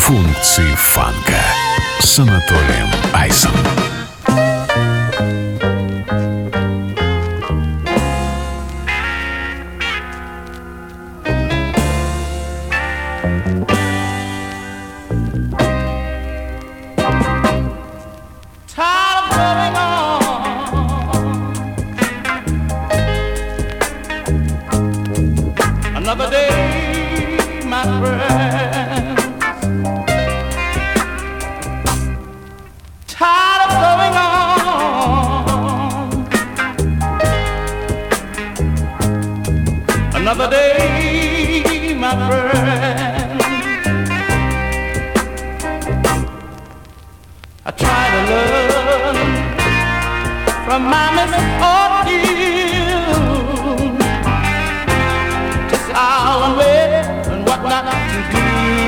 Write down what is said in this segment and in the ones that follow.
Функции фанка с Анатолием Айсом. Another day, my friend. Tired of going on. Another day, my friend. I try to learn from my misfortune, just how and where and what not to do.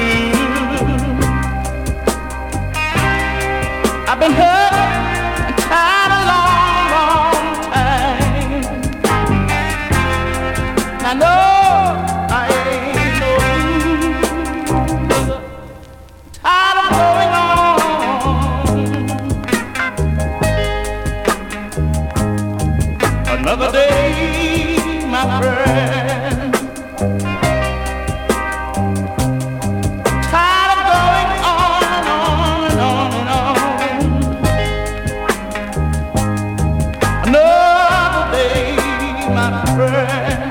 I've been hurt and tired a long, long time. I know I ain't no loser. Tired of going on. Another day, my friend. Tired of going on and on and on and on. Another day, my friend.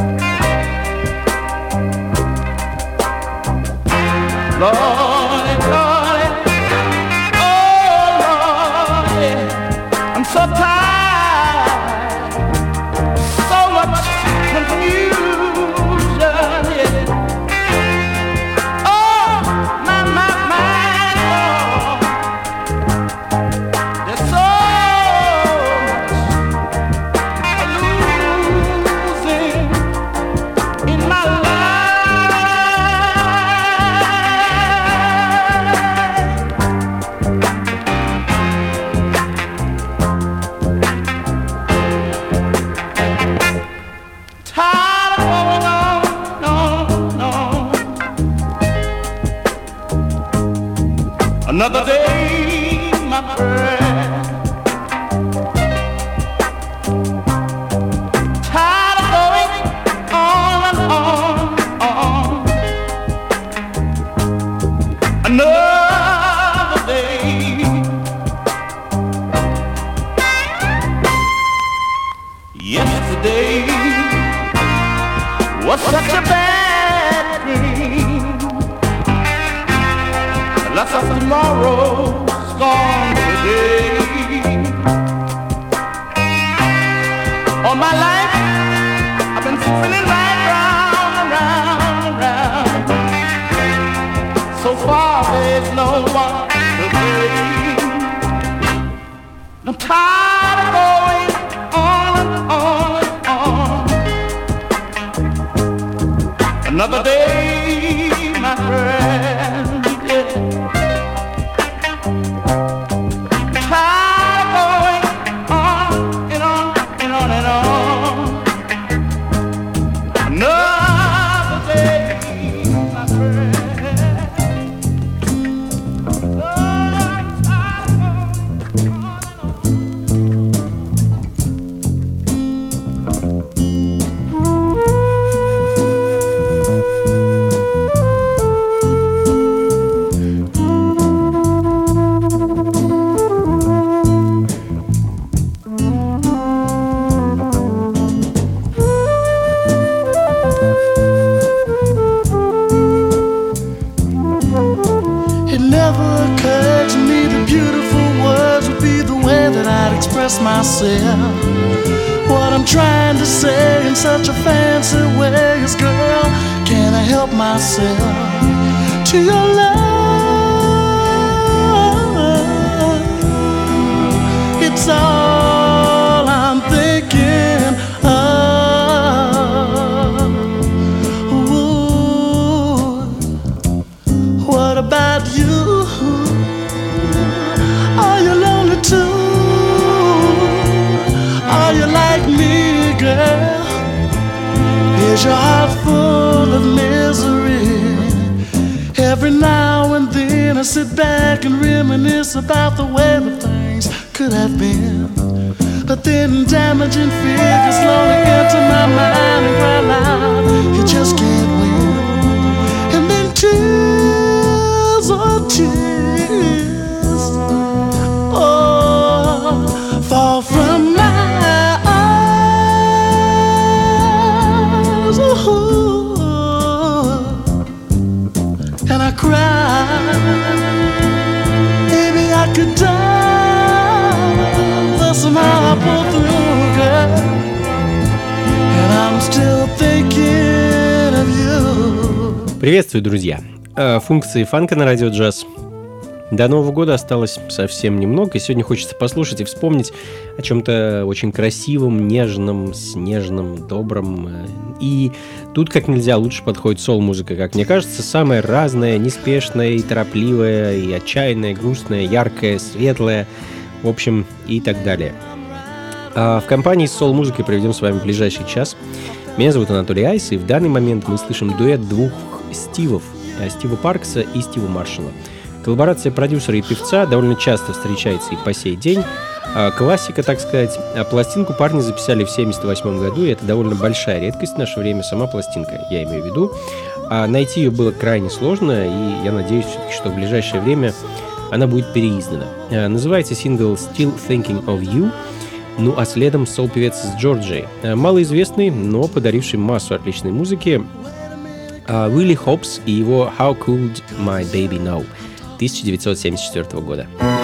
Lordy, Lordy, oh Lordy, I'm so tired, so much confusion, yeah. Oh, my, Lord, there's so much losing in my life. Tired of going on. Another day, my friend. Tired of going on and on. Another day. Yesterday was such a bad dream. Lots of tomorrow's gone today. All my life I've been spinning right round and round and round. So far there's no one to blame. I'm tired of going on and on and on. Another day, my friend, yeah. Tired of going on and on and on and on. Another day, my friend. Oh, I'm tired of going on It never occurred to me that beautiful words would be the way that I'd express myself. What I'm trying to say in such a fancy way is, girl, can I help myself to your love? It's all I'm thinking of. Ooh, what about you? Are you lonely too? Are you like me, girl? Is your heart full of misery? Every now and then I sit back and reminisce about the way that things could have been. But then damaging figures slowly enter my mind and cry loud, you just can't win. And then tears, oh tears, oh, fall from my eyes, oh, and I cry. Maybe I could die, but somehow I pull through, girl. And I'm still thinking of you. Приветствую, друзья! Функции фанка на радио джаз. До Нового года осталось совсем немного, и сегодня хочется послушать и вспомнить о чем-то очень красивом, нежном, снежном, добром. И тут как нельзя лучше подходит сол-музыка, как мне кажется, самая разная, неспешная и торопливая, и отчаянная, грустная, яркая, светлая, в общем, и так далее. В компании с сол-музыкой проведем с вами ближайший час. Меня зовут Анатолий Айс, и в данный момент мы слышим дуэт двух Стивов, Стива Паркса и Стива Маршалла. Коллаборация продюсера и певца довольно часто встречается и по сей день. Классика, так сказать. Пластинку парни записали в 1978 году, и это довольно большая редкость в наше время, сама пластинка, я имею в виду. Найти ее было крайне сложно, и я надеюсь все-таки, что в ближайшее время она будет переиздана. Называется сингл «Still Thinking of You», ну а следом сол-певец из Джорджии, малоизвестный, но подаривший массу отличной музыки, Уилли Хопс и его «How Could My Baby Know» 1974 года.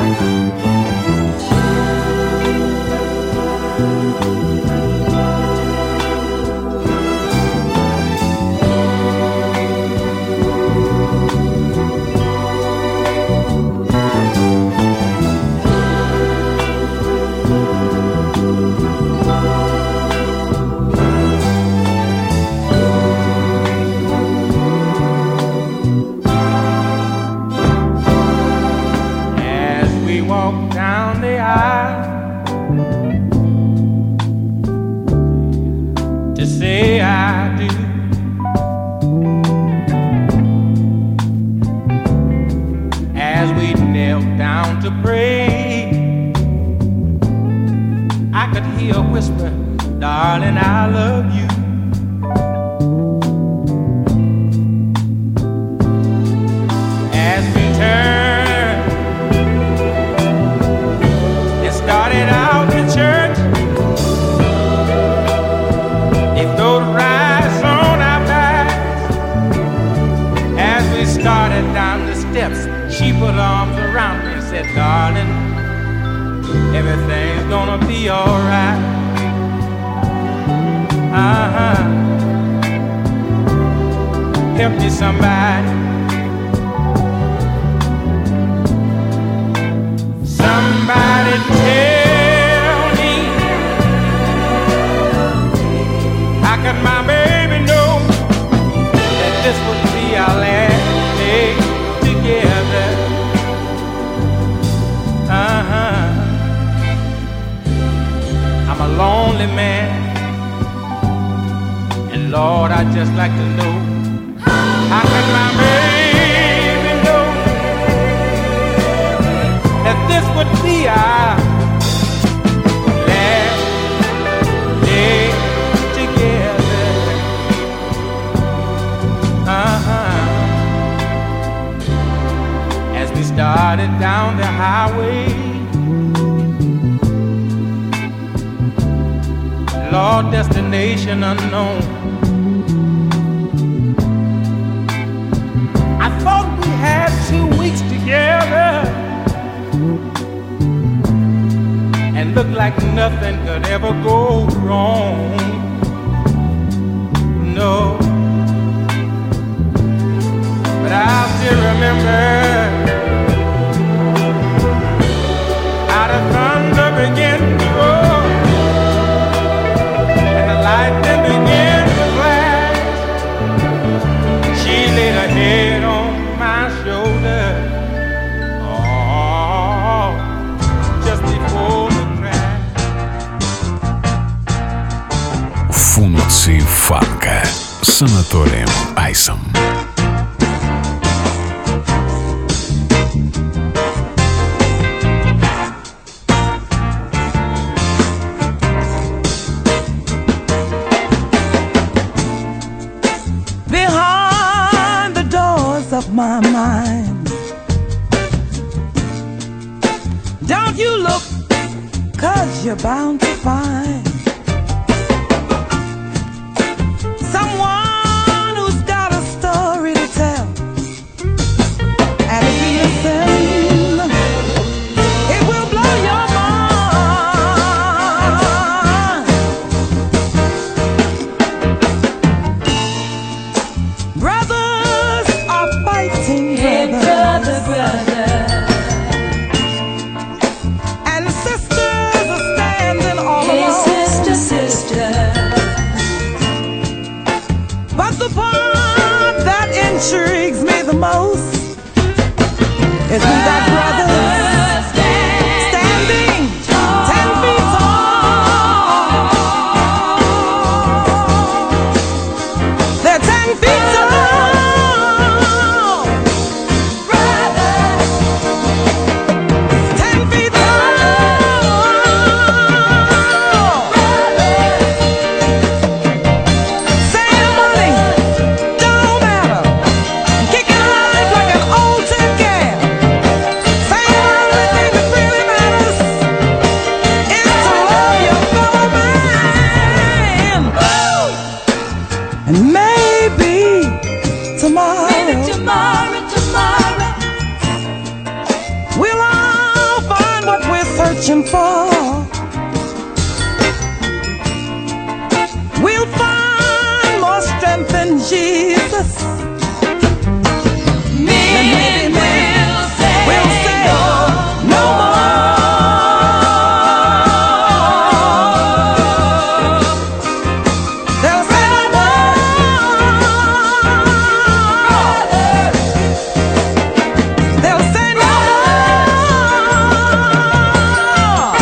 Darling, I love you. As we turn, it started out in church. They throwed rice on our backs. As we started down the steps, she put arms around me and said, darling, everything's gonna be alright. Help me, somebody. Somebody tell me, how can my baby know that this would be our last day together? I'm a lonely man. Lord, I'd just like to know, how can my baby know that this would be our last day together? As we started down the highway, Lord, destination unknown, had 2 weeks together and looked like nothing could ever go wrong. No, but I still remember how the thunder began to roar and the lightning began to flash. She laid her head on my shoulder, oh, just before the crash. Функции фанка с Анатолием Айсом. of my mind. Don't you look, 'cause you're bound to find someone who's got a story to tell. And if you listen, it will blow your mind. Brothers are fighting brothers. And sisters are standing all alone. Sister. But the part that intrigues me the most is we got brothers standing 10 feet tall. They're 10 feet tall. Brothers, 10 feet tall. Ceremony don't matter. Kicking life like an old tin can. Saying the only thing that really matters is to love your fellow man. And maybe tomorrow, we'll all find what we're searching for. We'll find more strength in Jesus. Men will say no more. They'll say no more. They'll say no more.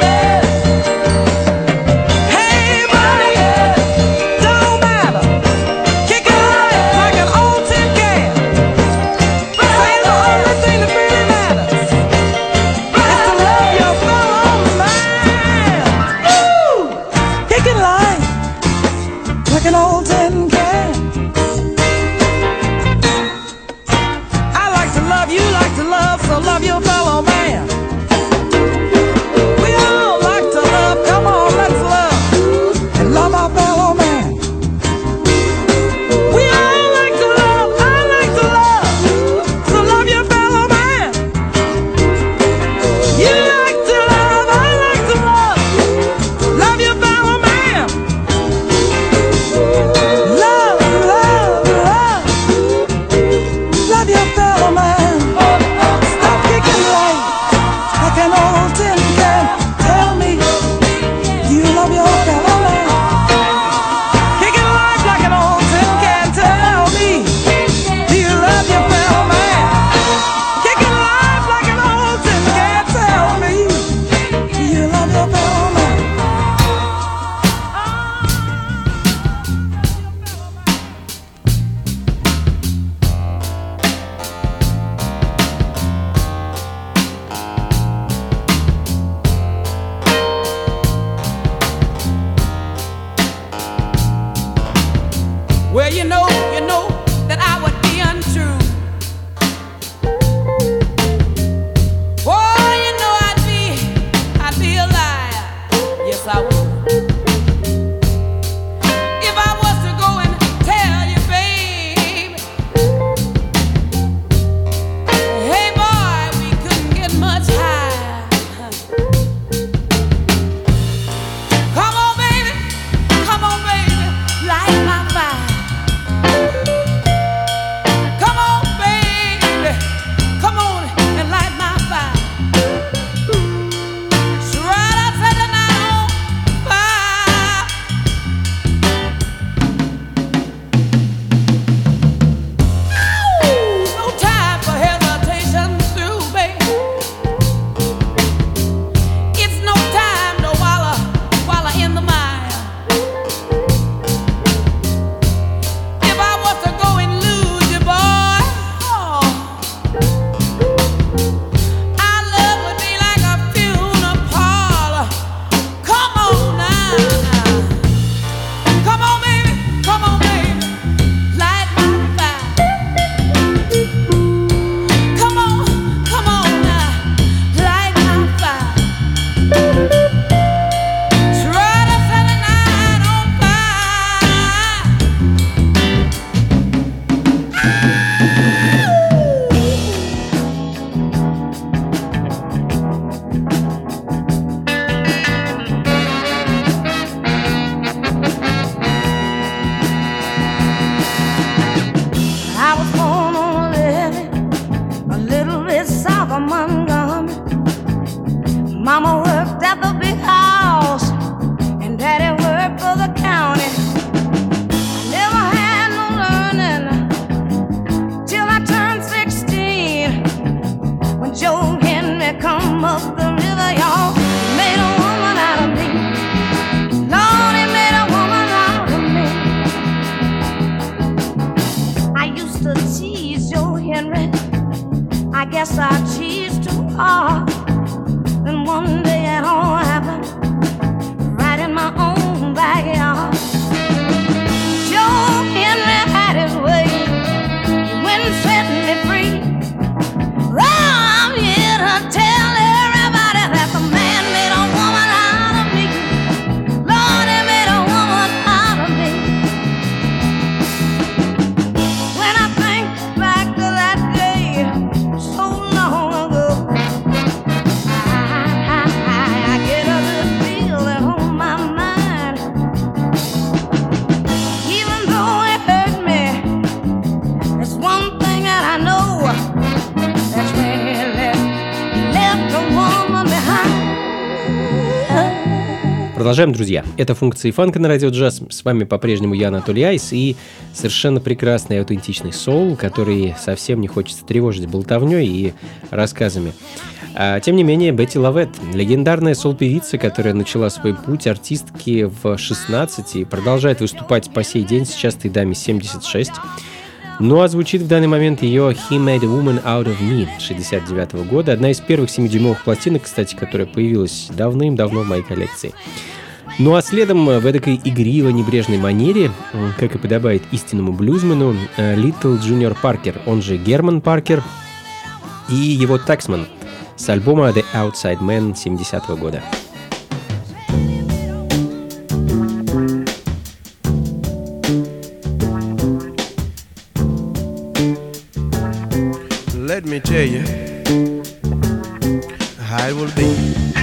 Hey, buddy, don't matter. Kick it like an old tin can. Say the only thing that really matters is to love your fellow man. Ooh, kick it like an old tin can. I like to love, you like to love, so love your fellow man. We all like to love, come on, let's love and love our fellow man. We all like to love, I like to love, so love your fellow man. You like to love, I like to love your fellow man. Love, love, love, love your fellow man. Stop kicking Henry, I guess I cheated too hard. Then one day it all happened right in my own backyard. Joe Henry had his way. He went and set me free. I'm here to tell everybody that the man made a woman out of me. Lord, he made a woman out of me. When I think back to that day so long ago, I get a little feeling on my mind. Even though it hurt me, there's one thing that I know. That's when he left a woman behind. Продолжаем, друзья. Это функции фанка на радио джаз. С вами по-прежнему я, Анатолий Айс, и совершенно прекрасный аутентичный соул, который совсем не хочется тревожить болтовней и рассказами. Тем не менее, Бетти Лавет, легендарная соул-певица, которая начала свой путь артистки в 16 и продолжает выступать по сей день, сейчас этой даме 76. Ну а звучит в данный момент ее «He Made a Woman Out of Me» 69 года. Одна из первых 7-дюймовых пластинок, кстати, которая появилась давным-давно в моей коллекции. Ну а следом в эдакой игриво-небрежной манере, как и подобает истинному блюзмену, Литл Джуниор Паркер, он же Герман Паркер, и его «Taxman» с альбома «The Outside Man» 70 года. Let me tell you how it will be.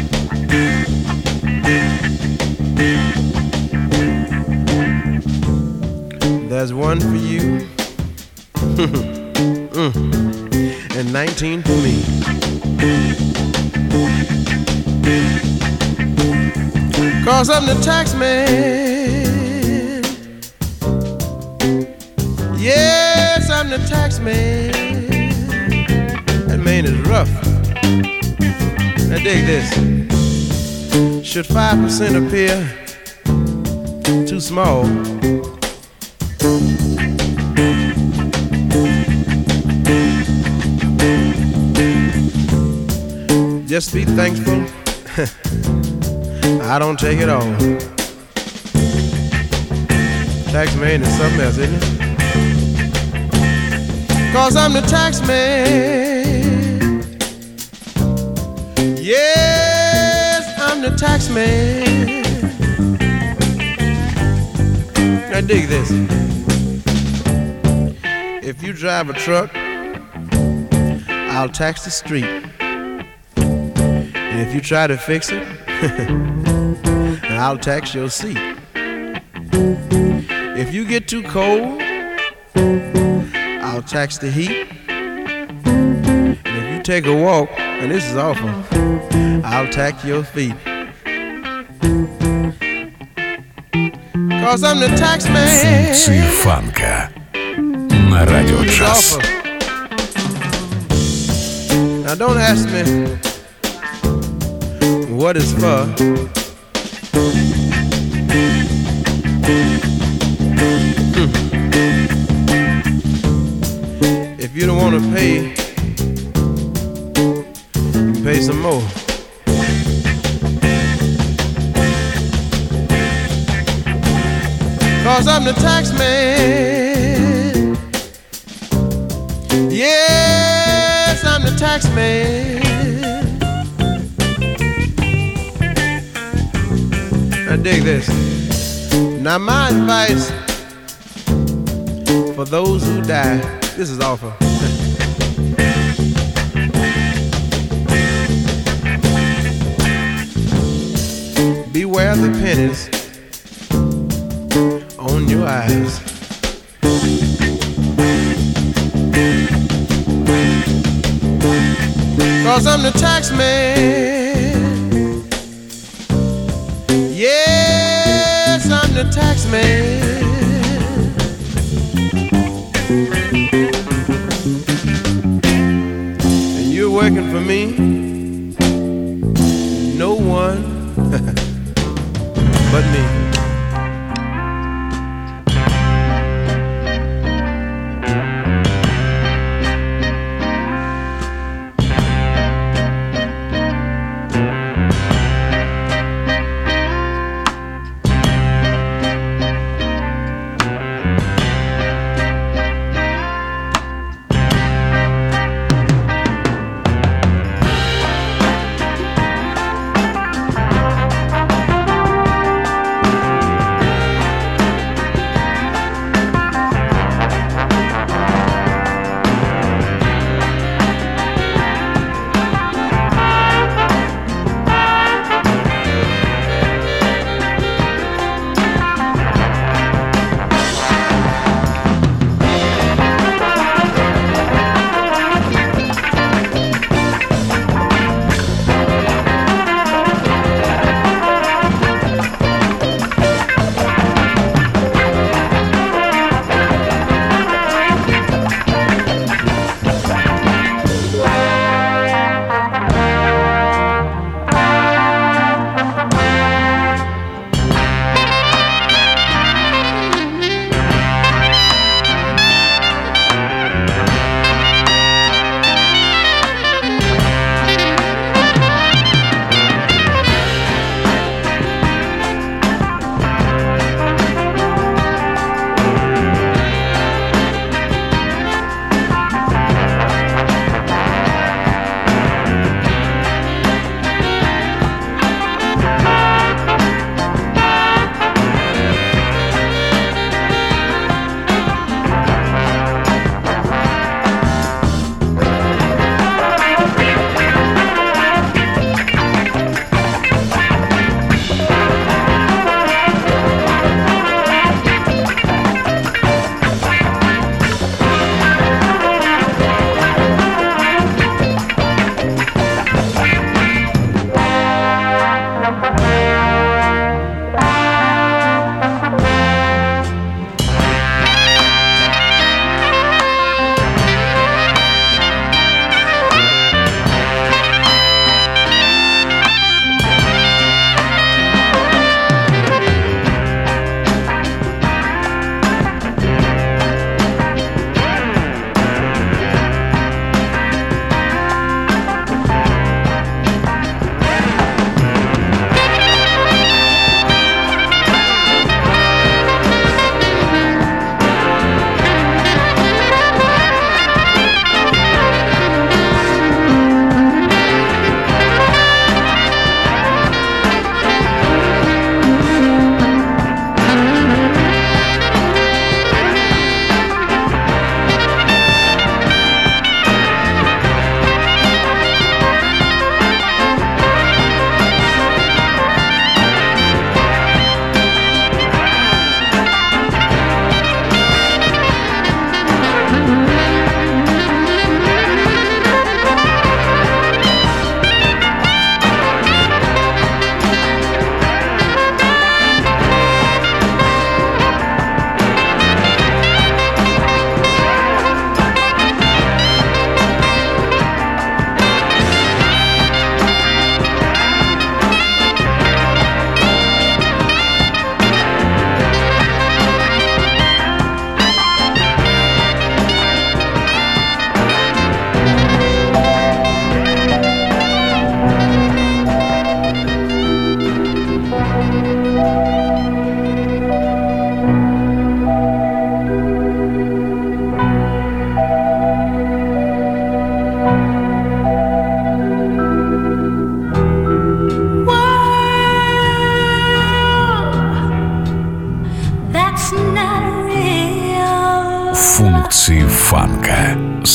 There's one for you, and 19 for me. Cause I'm the tax man. Yes, I'm the tax man. That man is rough. Now dig this. Should 5% appear too small? Just be thankful I don't take it all. Tax man is something else, isn't it? Cause I'm the tax man. Yes, I'm the tax man. Now dig this. If you drive a truck, I'll tax the street. And if you try to fix it, I'll tax your seat. If you get too cold, I'll tax the heat. And if you take a walk, and this is awful, I'll tax your feet. Cause I'm the tax man. Функции фанка на радио It's джаз. awful. Now don't ask me what it's for. If you don't want to pay, you can pay some more. Cause I'm the tax man. Yes, I'm the tax man. Now dig this. Now my advice for those who die, this is awful. Beware the pennies on your eyes. Cause I'm the tax man. Yes, I'm the tax man. And you're working for me. No one but me.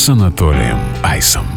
с Анатолием Айсом.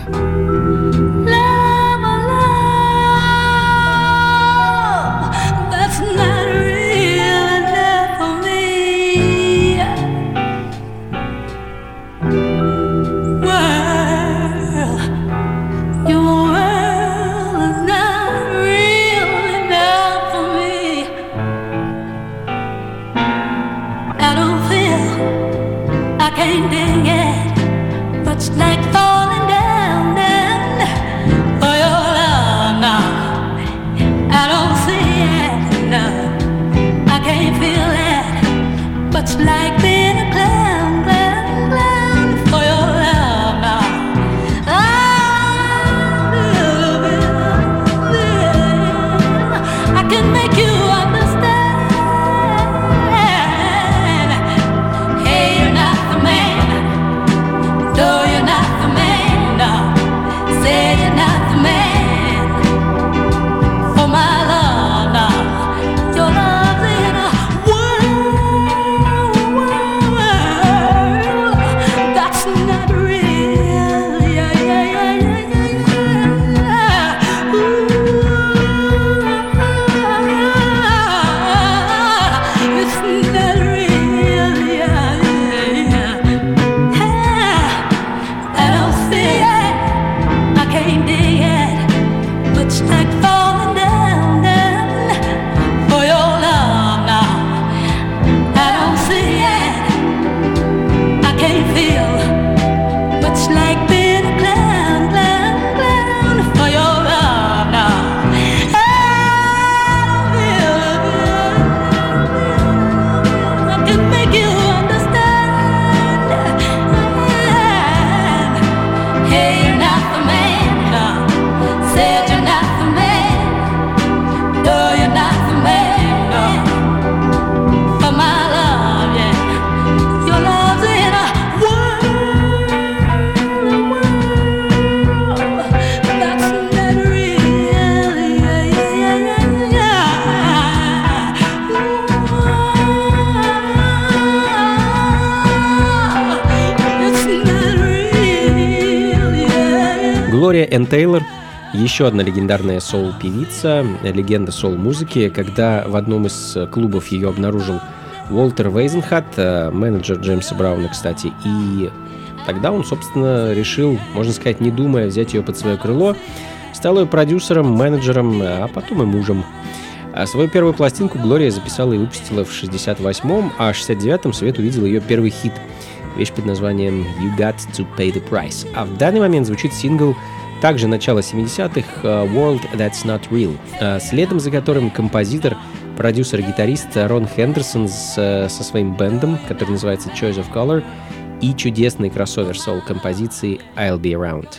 Глория Энн Тейлор — еще одна легендарная соул-певица, легенда соул-музыки. Когда в одном из клубов ее обнаружил Уолтер Вейзенхат, менеджер Джеймса Брауна, кстати, и тогда он, собственно, решил, можно сказать, не думая, взять ее под свое крыло, стал ее продюсером, менеджером, а потом и мужем. Свою первую пластинку Глория записала и выпустила в 68-м, а в 69-м свет увидел ее первый хит — вещь под названием «You Got to Pay the Price». А в данный момент звучит сингл также начала 70-х «World That's Not Real», следом за которым композитор, продюсер и гитарист Рон Хендерсон со своим бэндом, который называется Choice of Color, и чудесный кроссовер соул-композиции «I'll Be Around».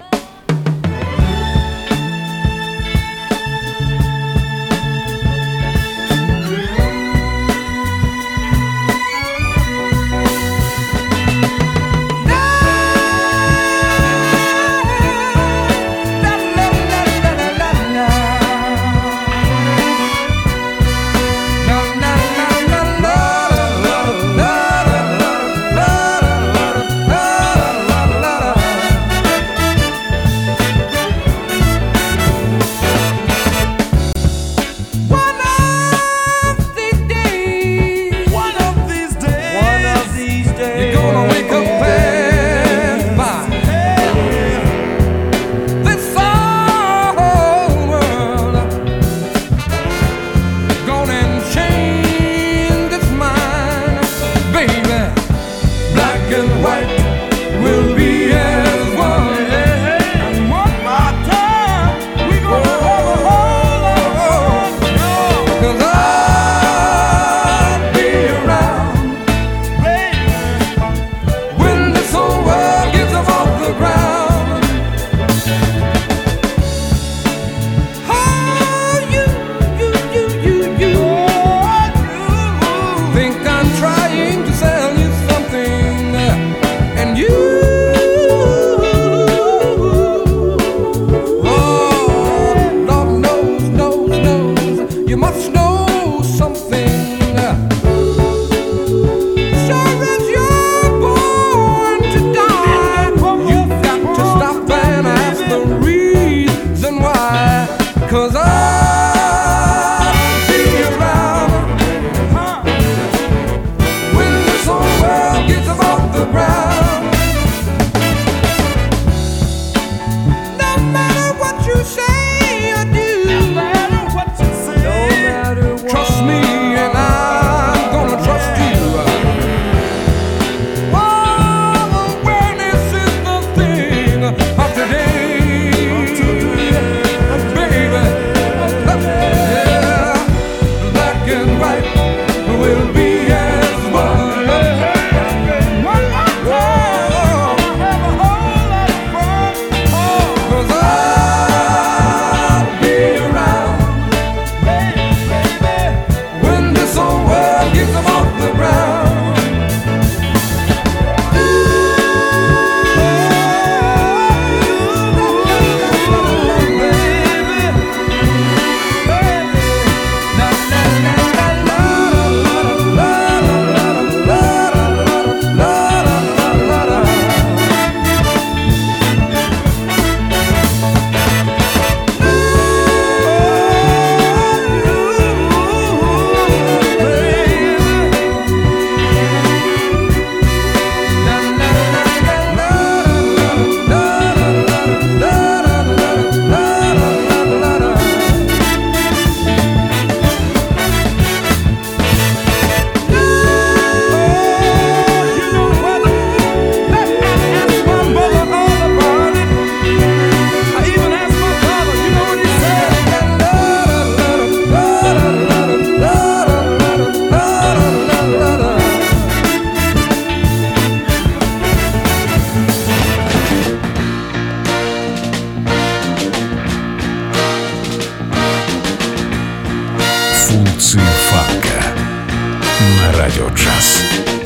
радио джаз.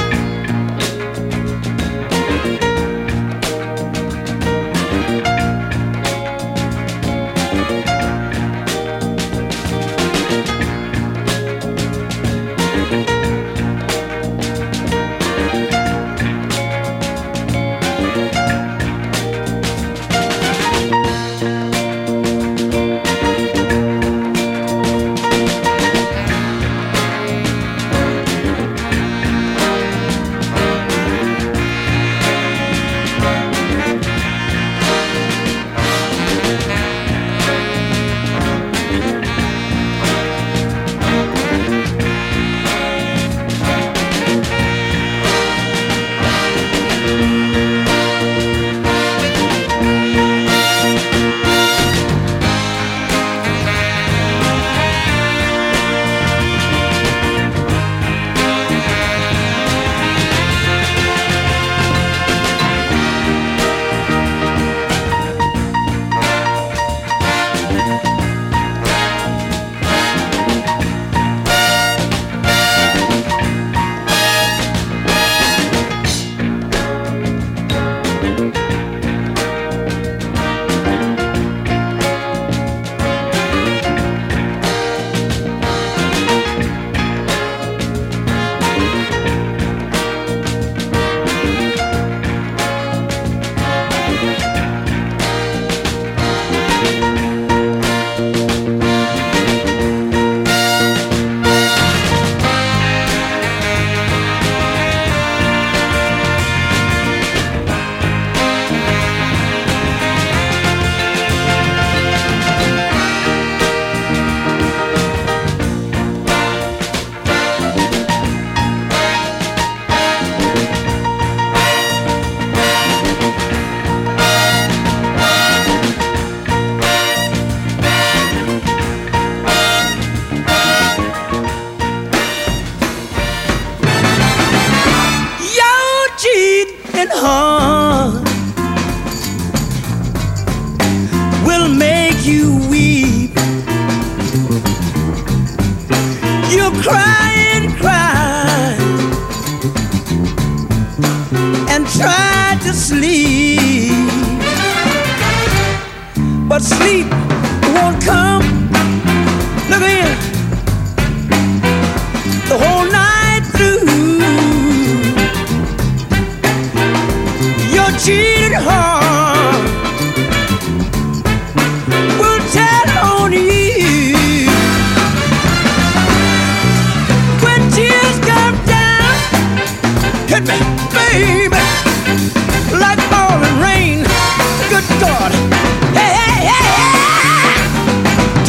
heart will make you weep. You cry and cry and try to sleep, but sleep won't come. Look here, the whole night through. Your cheated heart will tell on you. When tears come down, hit me, baby, like falling rain. Good God, hey, hey, hey, hey.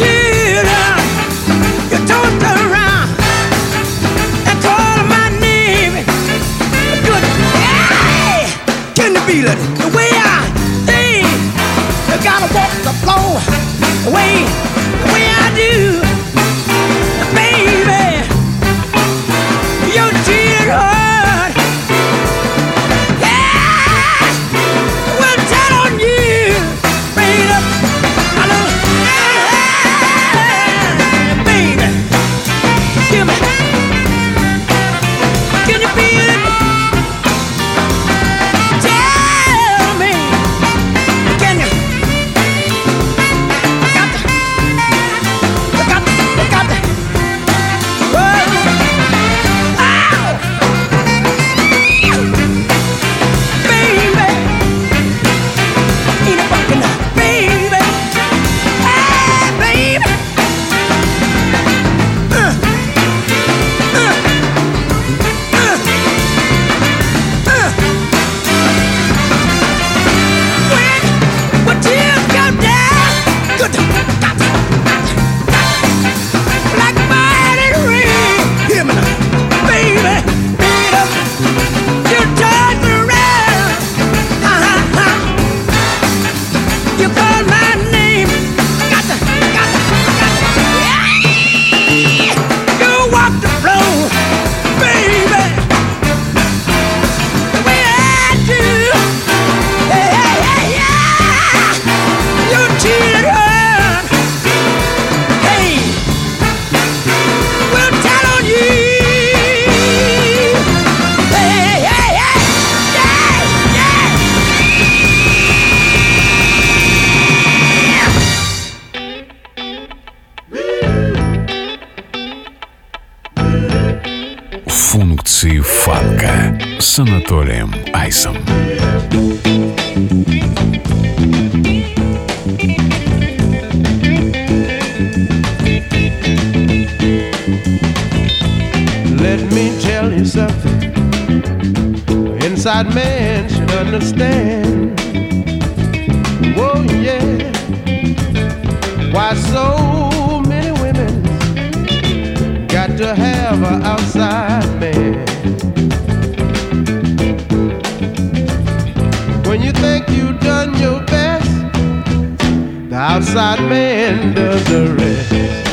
с Анатолием Айсом. Let me tell you something. Inside man should understand. Oh yeah. Why so many women got to have an outside man? When you think you've done your best, the outside man does the rest.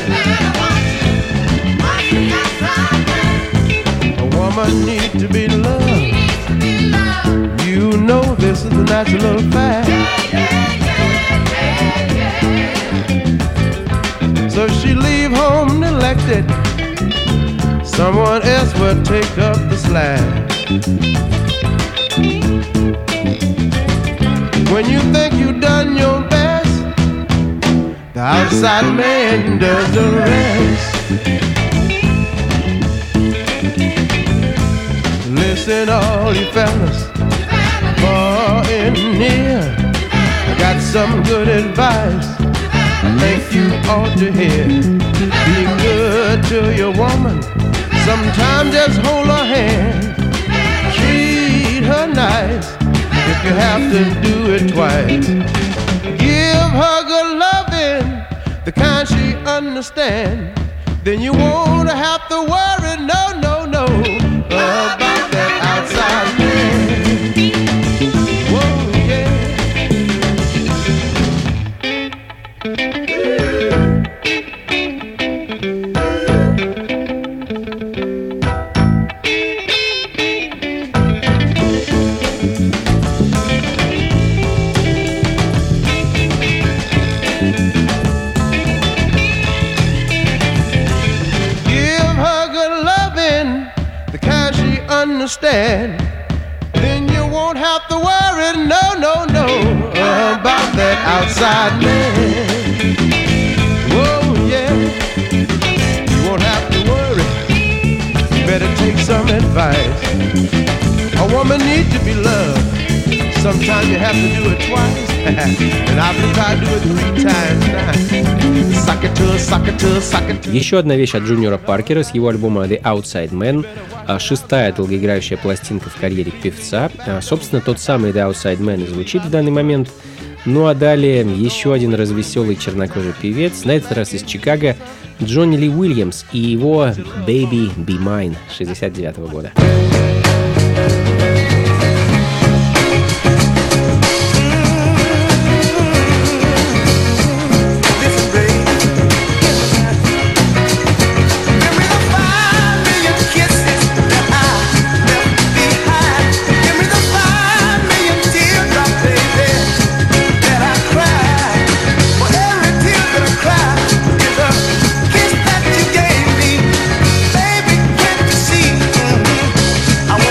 A woman needs to be loved. You know this is a natural fact. So she leave home neglected. Someone else will take up the slack. When you think you've done your best, the outside man does the rest. Listen, all you fellas, far in here, I got some good advice I think you ought to hear. Be good to your woman, sometimes just hold her hand. Treat her nice, if you have to do it twice. Give her good loving, the kind she understands. Then you won't have to worry, no, no, no, about that outside man. Whoa, yeah. Understand, then you won't have to worry, no, no, no, about that outside man. Whoa, yeah, you won't have to worry. You better take some advice. A woman needs to be loved. Sometimes you have to do it twice, and I believe I do it 3 times now. Suck it to her, suck it to her, suck it to her. Еще одна вещь от Джуниора Паркера с его альбома The Outside Man, 6-я долгоиграющая пластинка в карьере певца. Собственно, тот самый The Outside Man и звучит в данный момент. Ну а далее еще один развеселый чернокожий певец, на этот раз из Чикаго, Джонни Ли Уильямс и его Baby Be Mine 1969 года. I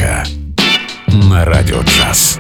фанка на Радио Джаз.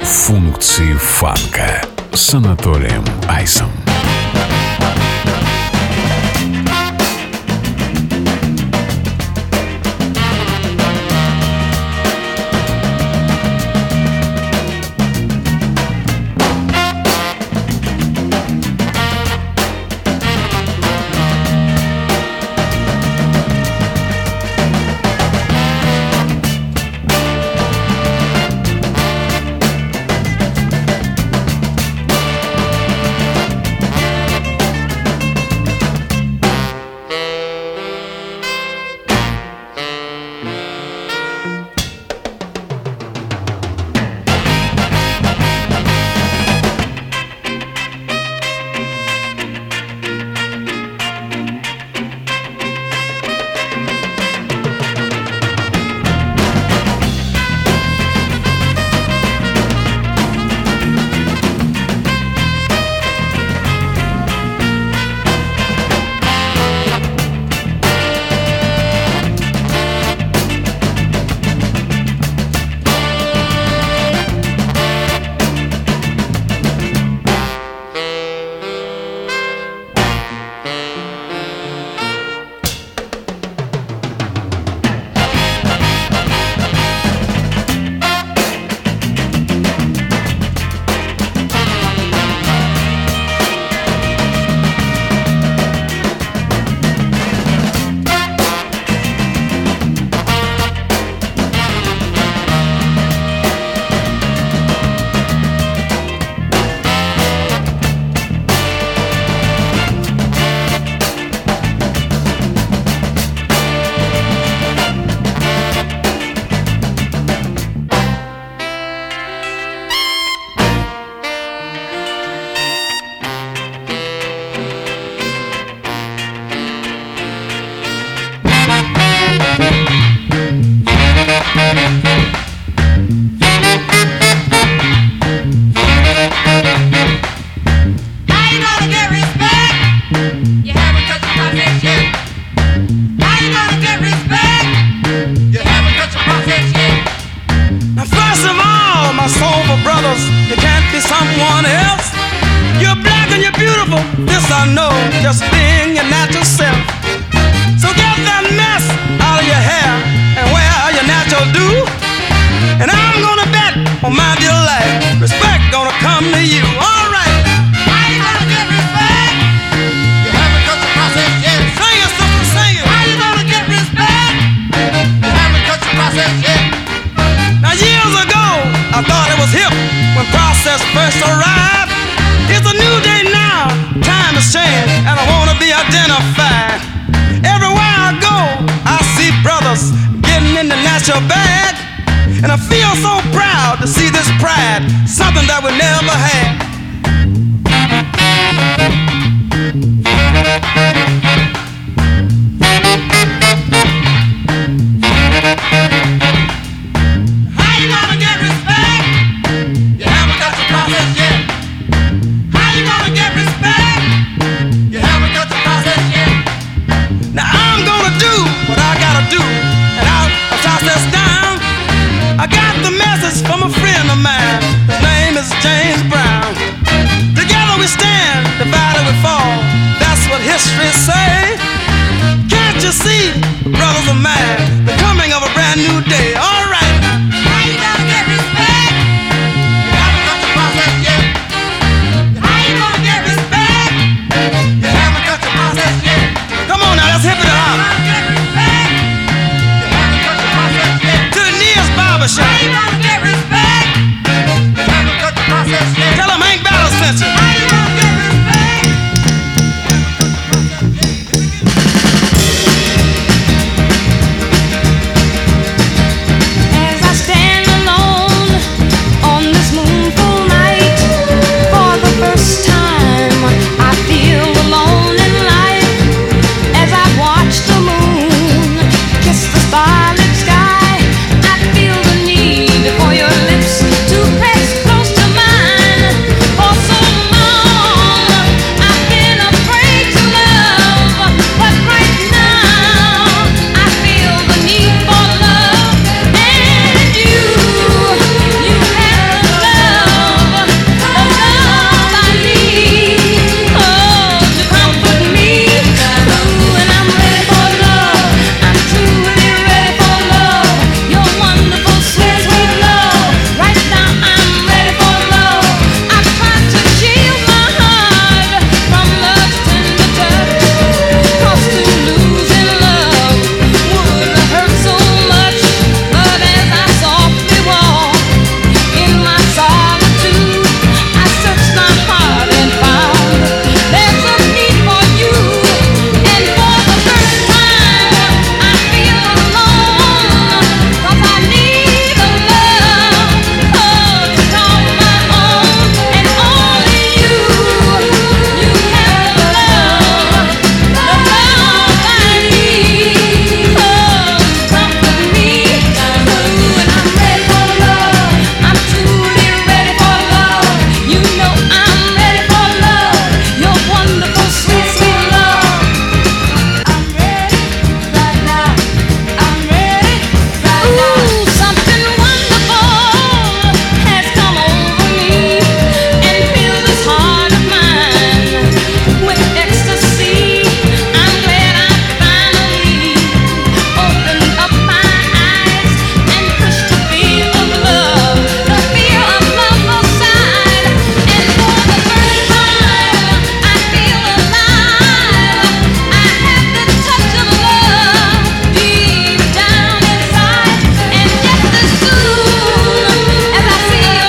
Функции фанка с Анатолием Айсом.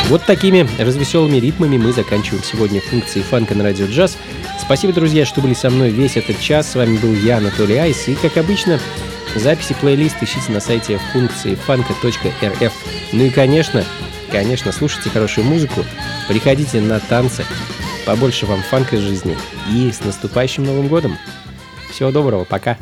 Вот такими развеселыми ритмами мы заканчиваем сегодня функции фанка на радио джаз. Спасибо, друзья, что были со мной весь этот час. С вами был я, Анатолий Айс. И, как обычно, записи плейлист ищите на сайте функции фанка.рф. Ну и, конечно, слушайте хорошую музыку, приходите на танцы, побольше вам фанка из жизни. И с наступающим Новым годом! Всего доброго, пока!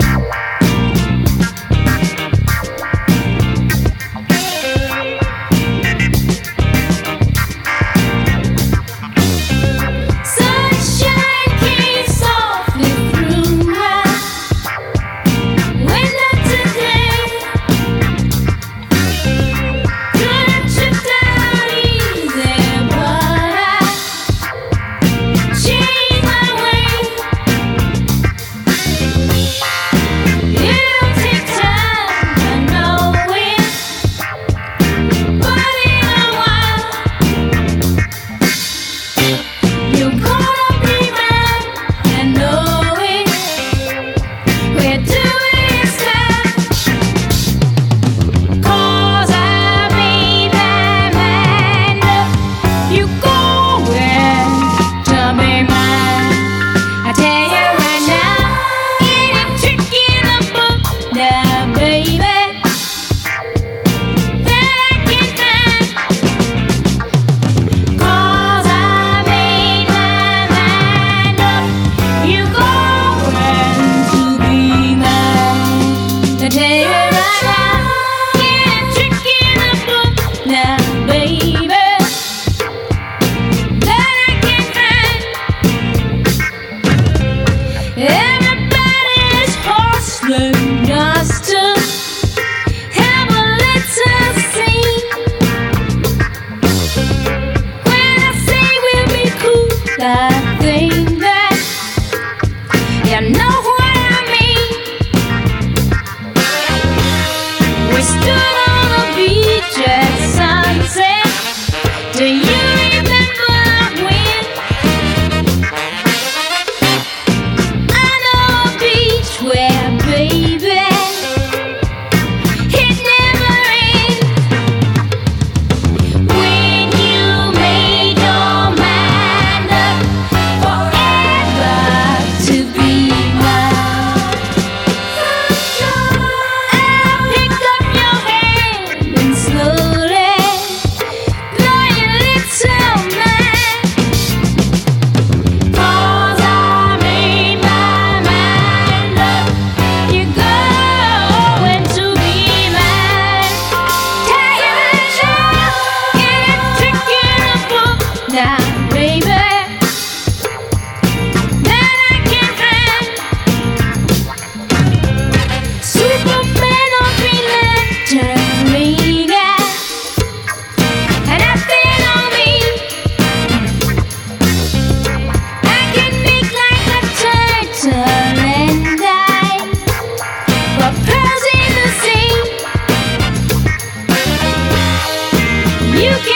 You can